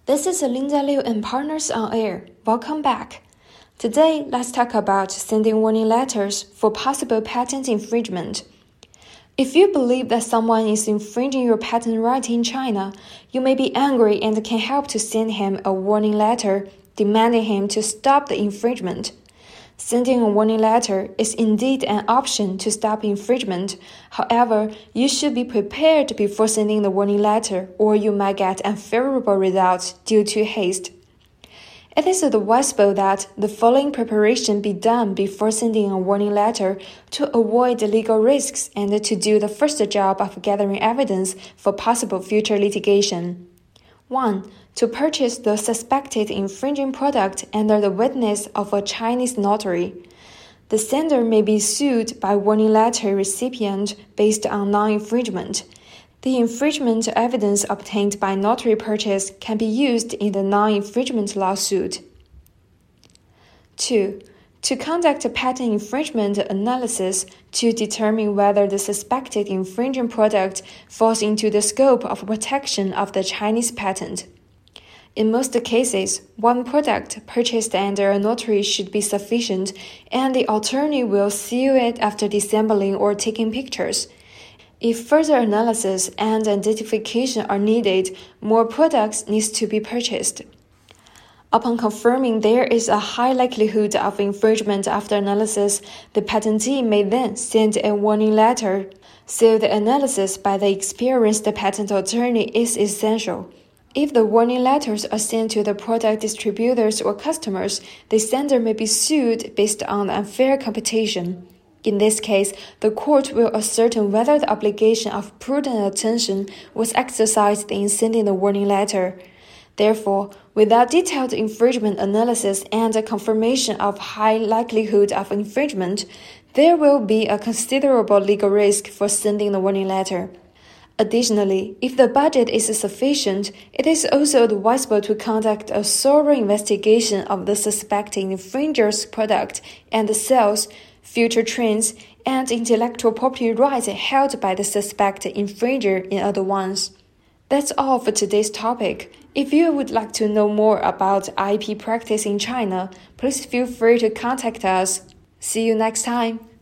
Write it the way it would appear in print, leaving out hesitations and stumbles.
This is Linda Liu and Partners on Air. Welcome back. Today, let's talk about sending warning letters for possible patent infringement. If you believe that someone is infringing your patent right in China, you may be angry and can help to send him a warning letter demanding him to stop the infringement. Sending a warning letter is indeed an option to stop infringement. However, you should be prepared before sending the warning letter, or you might get unfavorable results due to haste. It is advisable that the following preparation be done before sending a warning letter to avoid legal risks and to do the first job of gathering evidence for possible future litigation. 1. To purchase the suspected infringing product under the witness of a Chinese notary. The sender may be sued by warning letter recipient based on non-infringement. The infringement evidence obtained by notary purchase can be used in the non-infringement lawsuit. 2. To conduct a patent infringement analysis to determine whether the suspected infringing product falls into the scope of protection of the Chinese patent. In most cases, one product purchased under a notary should be sufficient, and the attorney will seal it after disassembling or taking pictures. If further analysis and identification are needed, more products need to be purchased. Upon confirming there is a high likelihood of infringement after analysis, the patentee may then send a warning letter. So the analysis by the experienced patent attorney is essential. If the warning letters are sent to the product distributors or customers, the sender may be sued based on unfair competition. In this case, the court will ascertain whether the obligation of prudent attention was exercised in sending the warning letter. Therefore, without detailed infringement analysis and a confirmation of high likelihood of infringement, there will be a considerable legal risk for sending the warning letter. Additionally, if the budget is sufficient, it is also advisable to conduct a thorough investigation of the suspected infringer's product and the sales, future trends, and intellectual property rights held by the suspected infringer in advance. That's all for today's topic. If you would like to know more about IP practice in China, please feel free to contact us. See you next time.